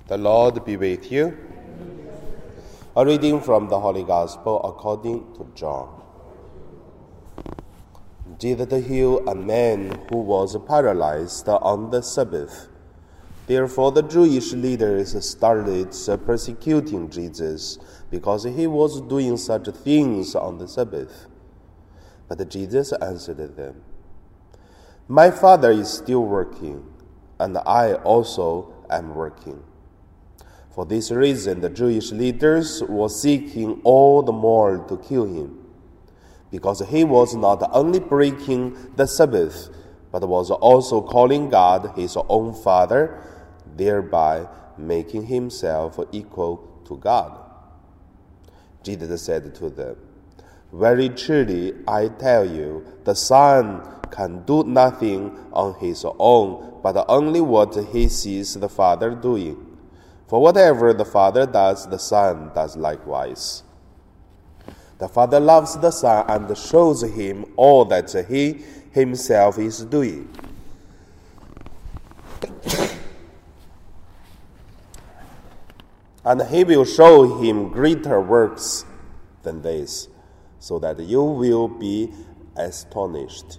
The Lord be with you. A reading from the Holy Gospel according to John. Jesus healed a man who was paralyzed on the Sabbath. Therefore the Jewish leaders started persecuting Jesus because he was doing such things on the Sabbath. But Jesus answered them, "My Father is still working, and I also am working." For this reason, the Jewish leaders were seeking all the more to kill him, because he was not only breaking the Sabbath, but was also calling God his own Father, thereby making himself equal to God. Jesus said to them, "Very truly, I tell you, the Son can do nothing on his own, but only what he sees the Father doing. For whatever the Father does, the Son does likewise. The Father loves the Son and shows him all that he himself is doing. And he will show him greater works than this, so that you will be astonished.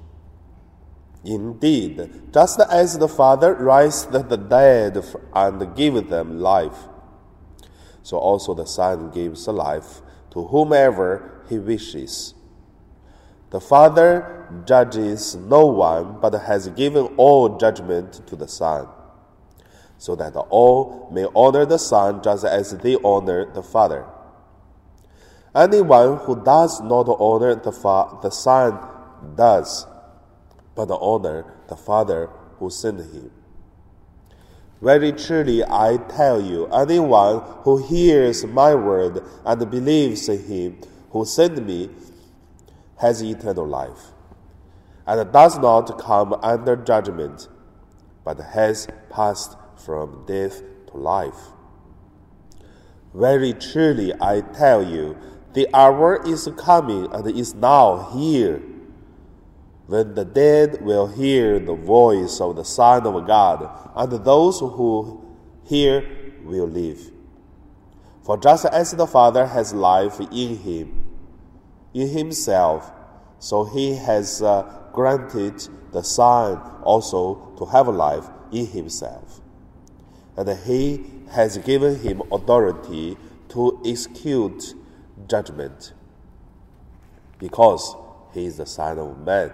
Indeed, just as the Father raised the dead and gave them life, so also the Son gives life to whomever he wishes. The Father judges no one, but has given all judgment to the Son, so that all may honor the Son just as they honor the Father. Anyone who does not honor the Son does but honor the Father who sent him. Very truly, I tell you, anyone who hears my word and believes in him who sent me has eternal life, and does not come under judgment, but has passed from death to life. Very truly, I tell you, the hour is coming and is now here, when the dead will hear the voice of the Son of God, and those who hear will live. For just as the Father has life in himself, so he has granted the Son also to have life in himself. And he has given him authority to execute judgment, because he is the Son of Man.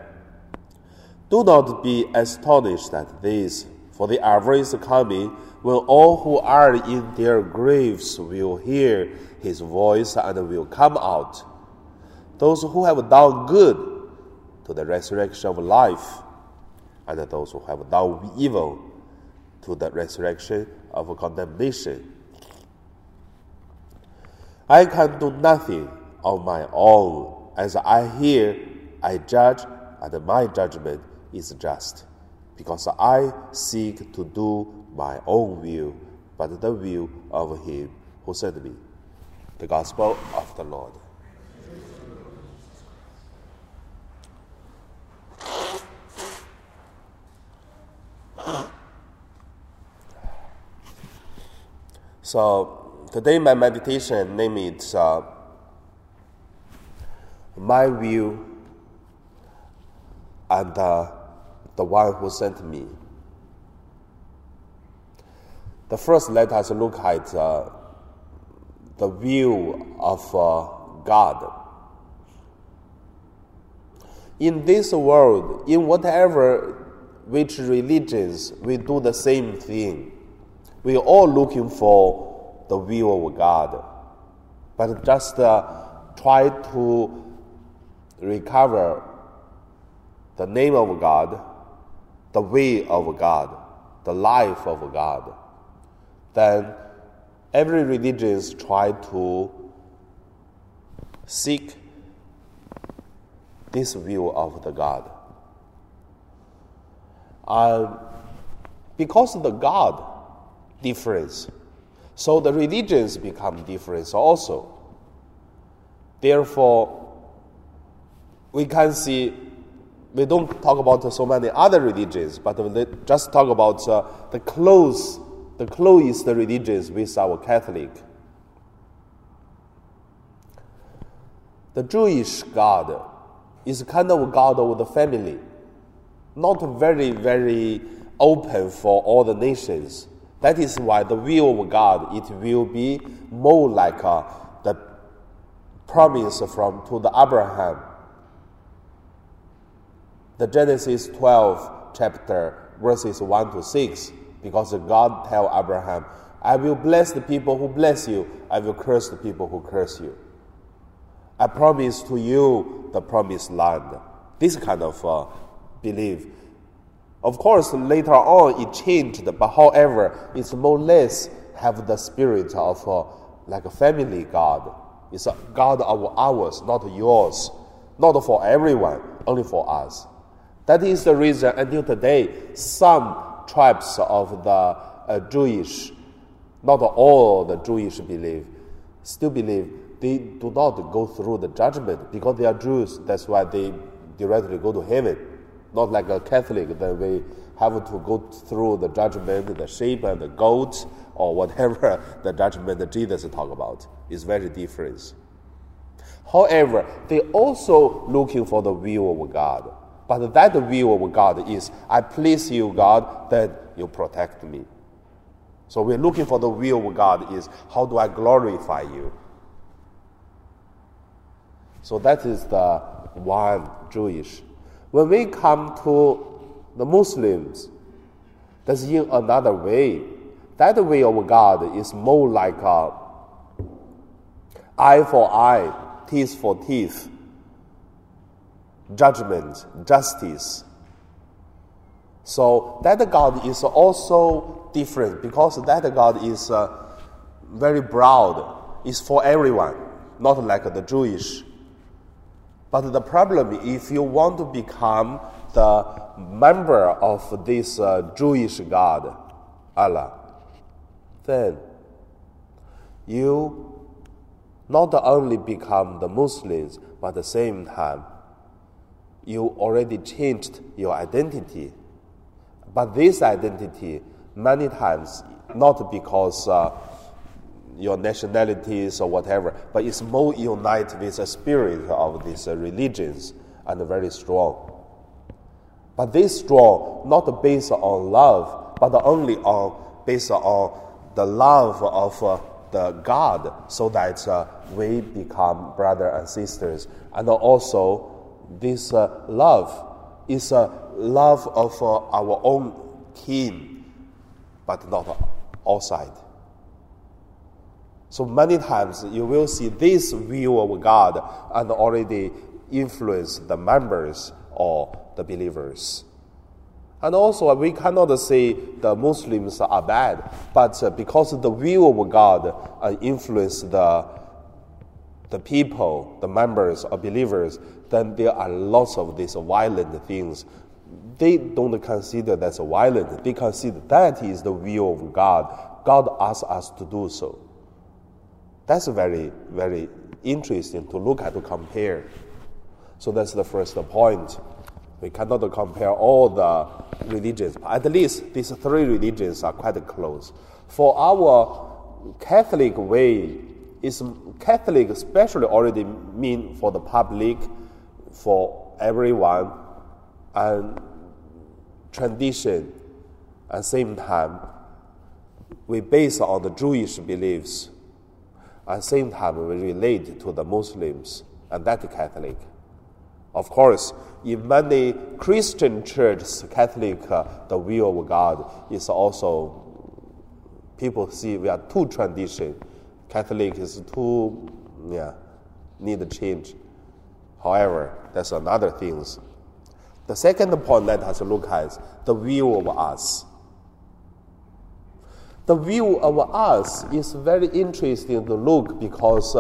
Do not be astonished at this, for the hour is coming when all who are in their graves will hear his voice and will come out, those who have done good to the resurrection of life, and those who have done evil to the resurrection of condemnation. I can do nothing on my own. As I hear, I judge, and my judgment is just, because I seek to do my own will, but the will of him who sent me." The Gospel of the Lord. So today my meditation name is My Will and the one who sent me. The first, let us look at the will of God. In this world, in whatever which religions, we do the same thing. We are all looking for the will of God, but just try to recover the name of God, the way of God, the life of God. Then every religion try to seek this will of the God. Because the God difference, so the religions become different also. Therefore, we can see, we don't talk about so many other religions, but we just talk about the close the closest religions with our Catholic. The Jewish God is kind of God of the family, not very, very open for all the nations. That is why the will of God, it will be more like the promise to the Abraham. The Genesis 12 chapter, verses 1 to 6, because God tell Abraham, I will bless the people who bless you, I will curse the people who curse you. I promise to you the promised land. This kind of belief. Of course, later on it changed, but however, it's more or less have the spirit of like a family God. It's a God of ours, not yours. Not for everyone, only for us. That is the reason until today, some tribes of the Jewish, not all the Jewish still believe they do not go through the judgment because they are Jews. That's why they directly go to heaven. Not like a Catholic, that we have to go through the judgment, the sheep and the goat, or whatever the judgment that Jesus talk about. Is very different. However, they also looking for the will of God. But that will of God is, I please you, God, then you protect me. So we're looking for the will of God is, how do I glorify you? So that is the one Jewish. When we come to the Muslims, that's in another way. That way of God is more like eye for eye, teeth for teeth, judgment, justice. So that God is also different because that God is very broad. It's for everyone, not like the Jewish. But the problem, if you want to become the member of this Jewish God, Allah, then you not only become the Muslims, but at the same time, you already changed your identity. But this identity, many times, not because your nationalities or whatever, but it's more united with the spirit of these religions and very strong. But this strong, not based on love, but only based on the love of the God, so that we become brothers and sisters. And also, this love is a love of our own kin, but not outside. So many times you will see this view of God and already influence the members or the believers. And also we cannot say the Muslims are bad, but because the view of God influence the people, the members or believers, then there are lots of these violent things. They don't consider that's violent. They consider that is the will of God. God asks us to do so. That's very, very interesting to look at, to compare. So that's the first point. We cannot compare all the religions. At least these three religions are quite close. For our Catholic way, Catholic especially already mean for the public, for everyone, and tradition. At the same time, we base on the Jewish beliefs. At the same time, we relate to the Muslims and that Catholic. Of course, in many Christian churches, Catholic, the will of God is also, people see we are two traditions. Catholic is too, need to change. However, that's another thing. The second point let us look at the view of us. The view of us is very interesting to look because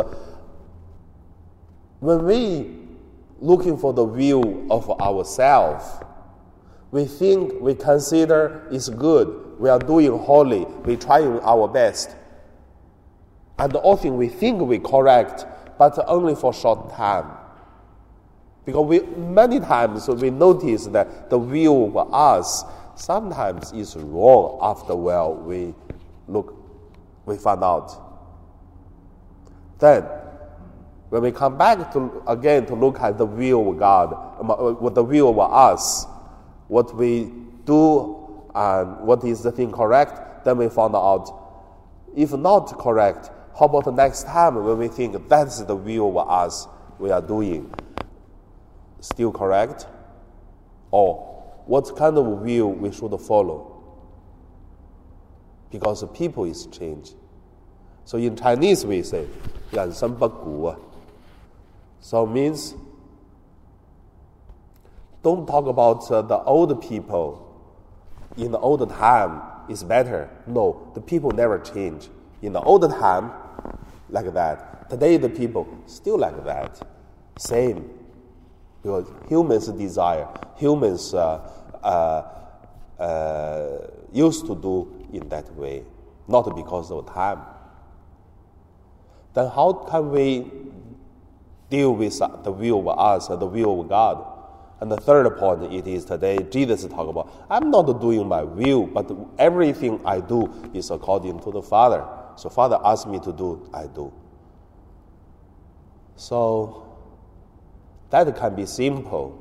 when we looking for the view of ourselves, we think, we consider it's good, we are doing holy, we trying our best. And often we think we correct, but only for short time. Because many times we notice that the view of us sometimes is wrong after a while we look, we found out. Then, when we come back to look at the will of God, what the will of us, what we do and what is the thing correct, then we found out, if not correct, how about the next time when we think that's the will of us we are doing, still correct? Or what kind of will we should follow? Because the people is changed. So in Chinese we say, 人生不古. So it means, don't talk about the old people in the old time is better. No, the people never change. In the old time, like that. Today the people still like that. Same. Because humans desire, humans used to do in that way, not because of time. Then how can we deal with the will of us, the will of God? And the third point, it is today, Jesus talk about, I'm not doing my will, but everything I do is according to the Father. So Father asks me to do, I do. So that can be simple.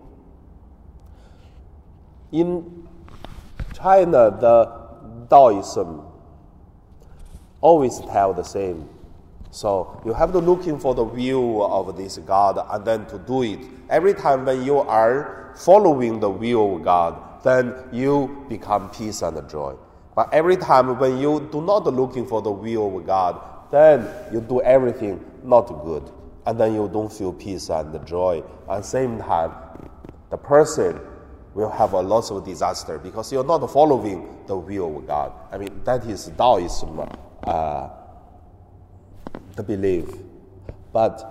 In China, the Taoism always tell the same. So you have to looking for the will of this God and then to do it. Every time when you are following the will of God, then you become peace and joy. But every time when you do not looking for the will of God, then you do everything not good. And then you don't feel peace and joy. At the same time, the person will have a lot of disaster because you're not following the will of God. I mean, that is Taoism, the belief. But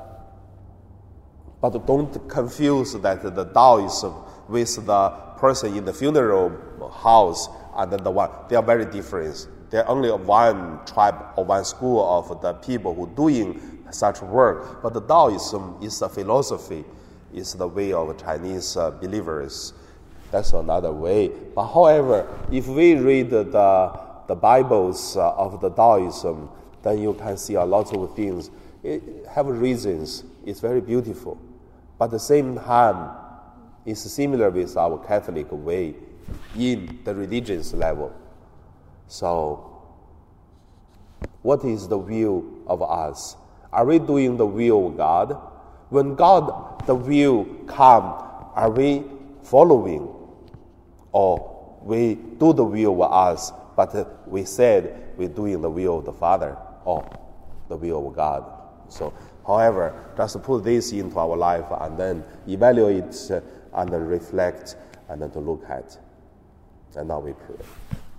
don't confuse that the Taoism with the person in the funeral house and then the one. They are very different. They're only one tribe or one school of the people who doing such work. But the Taoism is a philosophy, is the way of Chinese believers. That's another way. But however, if we read the Bibles of the Taoism, then you can see a lot of things. It have reasons. It's very beautiful. But at the same time, it's similar with our Catholic way in the religious level. So, what is the will of us? Are we doing the will of God? When God, the will come, are we following? Or we do the will of us, but we said we're doing the will of the Father or the will of God. So, however, just put this into our life and then evaluate and reflect and then to look at. And now we pray.